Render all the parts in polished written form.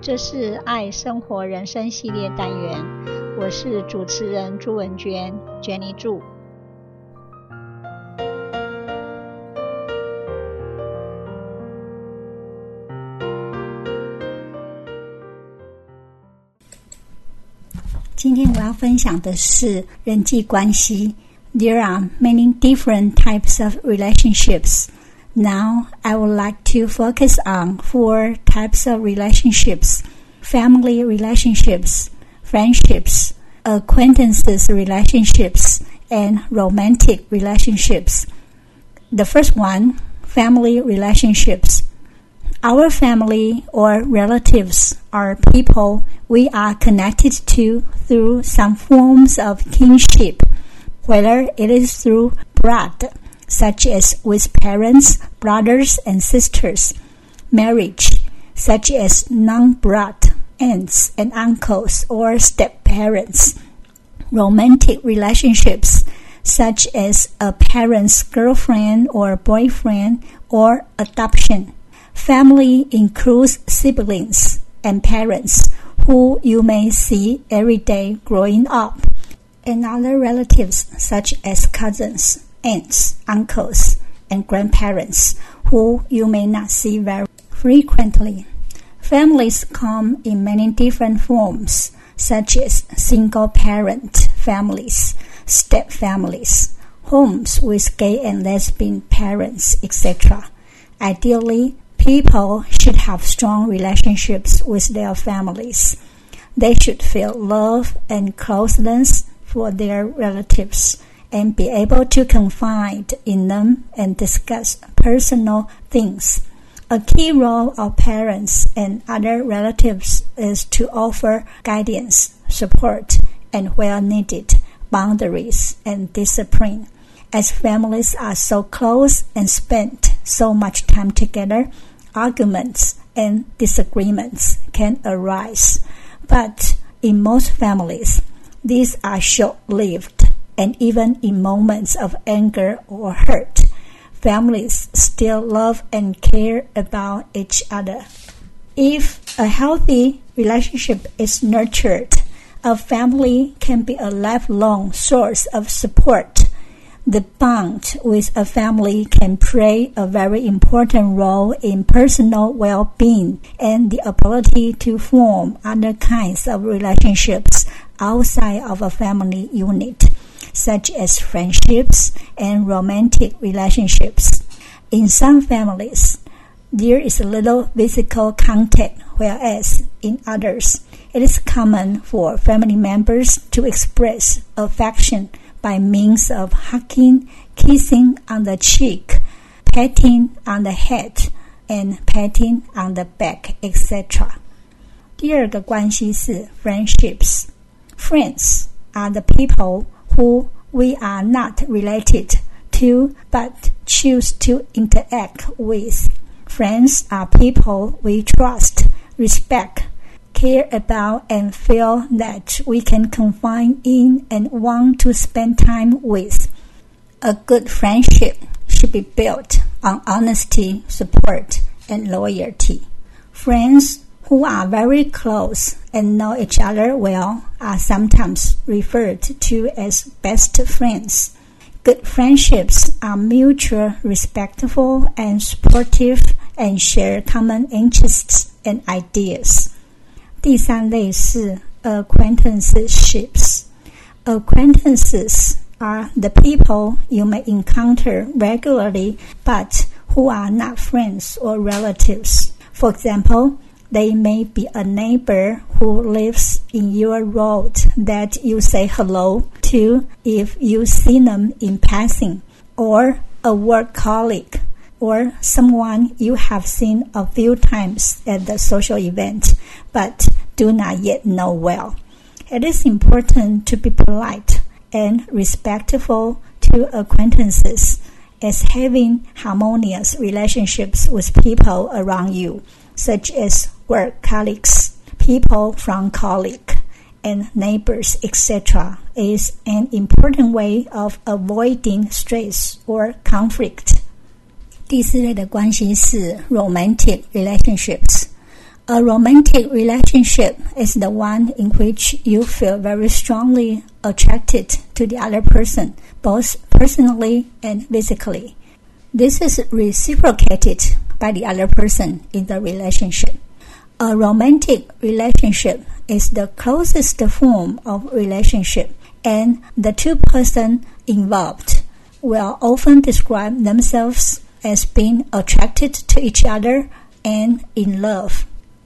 這是愛生活人生系列單元，我是主持人朱文娟 Jenny 朱。 今天我要分享的是人際關係。There are many different types of relationships. Now, I would like to focus on 4 types of relationships: family relationships, friendships, acquaintances relationships, and romantic relationships. The first one, family relationships. Our family or relatives are people we are connected to through some forms of kinship, whether it is through blood, such as with parents, brothers and sisters; marriage, such as non-blood aunts and uncles or step-parents; romantic relationships, such as a parent's girlfriend or boyfriend or adoption. Family includes siblings and parents who you may see every day growing up, and other relatives such as cousins, aunts, uncles, and grandparents who you may not see very frequently. Families come in many different forms, such as single-parent families, step-families, homes with gay and lesbian parents, etc. Ideally, people should have strong relationships with their families. They should feel love and closeness for their relatives and be able to confide in them and discuss personal things. A key role of parents and other relatives is to offer guidance, support, and where needed, boundaries and discipline. As families are so close and spend so much time together, arguments and disagreements can arise. But in most families, these are short-lived, and even in moments of anger or hurt, families still love and care about each other. If a healthy relationship is nurtured, a family can be a lifelong source of support. The bond with a family can play a very important role in personal well-being and the ability to form other kinds of relationships outside of a family unit, such as friendships and romantic relationships. In some families, there is little physical contact, whereas in others, it is common for family members to express affection by means of hugging, kissing on the cheek, patting on the head, and patting on the back, etc. 第二个关係是 friendships. Friends are the people who we are not related to but choose to interact with. Friends are people we trust, respect, care about, and feel that we can confide in and want to spend time with. A good friendship should be built on honesty, support, and loyalty. Friends who are very close and know each other well are sometimes referred to as best friends. Good friendships are mutual, respectful, and supportive, and share common interests and ideas. 第三類是 acquaintanceships. Acquaintances are the people you may encounter regularly but who are not friends or relatives. For example, they may be a neighbor who lives in your road that you say hello to if you see them in passing, or a work colleague, or someone you have seen a few times at the social event but do not yet know well. It is important to be polite and respectful to acquaintances, as having harmonious relationships with people around you, such as work colleagues, people from college, and neighbors, etc., is an important way of avoiding stress or conflict. 第四類的關係是 romantic relationships. A romantic relationship is the one in which you feel very strongly attracted to the other person, both personally and physically. This is reciprocated by the other person in the relationship. A romantic relationship is the closest form of relationship, and the two persons involved will often describe themselves as being attracted to each other and in love.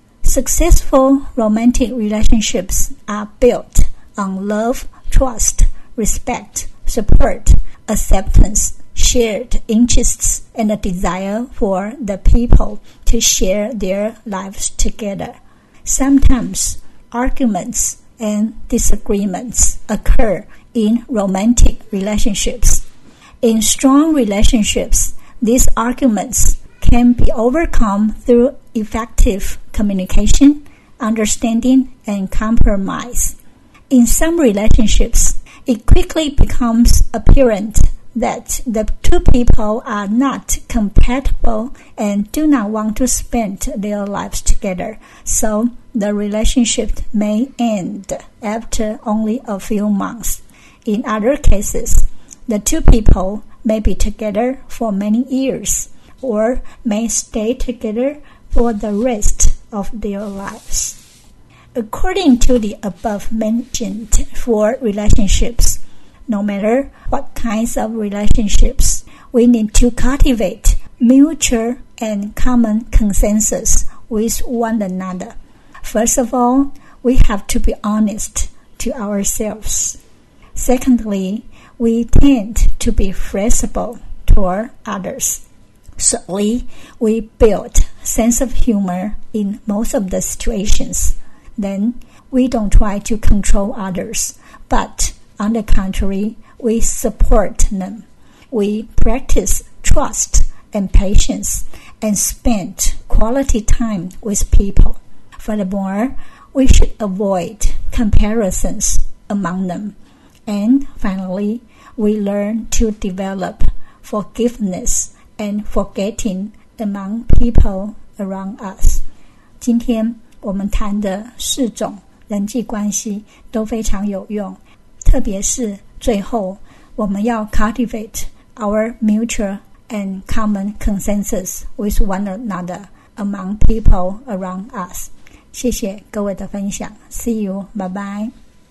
Successful romantic relationships are built on love, trust, respect, support, acceptance, shared interests, and a desire for the people to share their lives together. Sometimes arguments and disagreements occur in romantic relationships. In strong relationships, these arguments can be overcome through effective communication, understanding, and compromise. In some relationships, it quickly becomes apparent that the two people are not compatible and do not want to spend their lives together, so the relationship may end after only a few months. In other cases, the two people may be together for many years or may stay together for the rest of their lives. According to the above mentioned 4 relationships, no matter what kinds of relationships, we need to cultivate mutual and common consensus with one another. First of all, we have to be honest to ourselves. Secondly, we tend to be flexible toward others. Thirdly, we build sense of humor in most of the situations. Then, we don't try to control others, but on the contrary, we support them. We practice trust and patience and spend quality time with people. Furthermore, we should avoid comparisons among them. And finally, we learn to develop forgiveness and forgetting among people around us. 今天我们谈的4种人際關係都非常有用，特別是最後我們要 cultivate our mutual and common consensus with one another among people around us. 謝謝各位的分享。See you. Bye bye.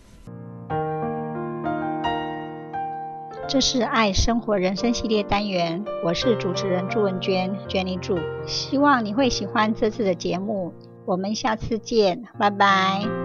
這是愛生活人生系列單元，我是主持人朱文娟 Jenny 朱，希望你會喜歡這次的節目，我們下次見，拜拜。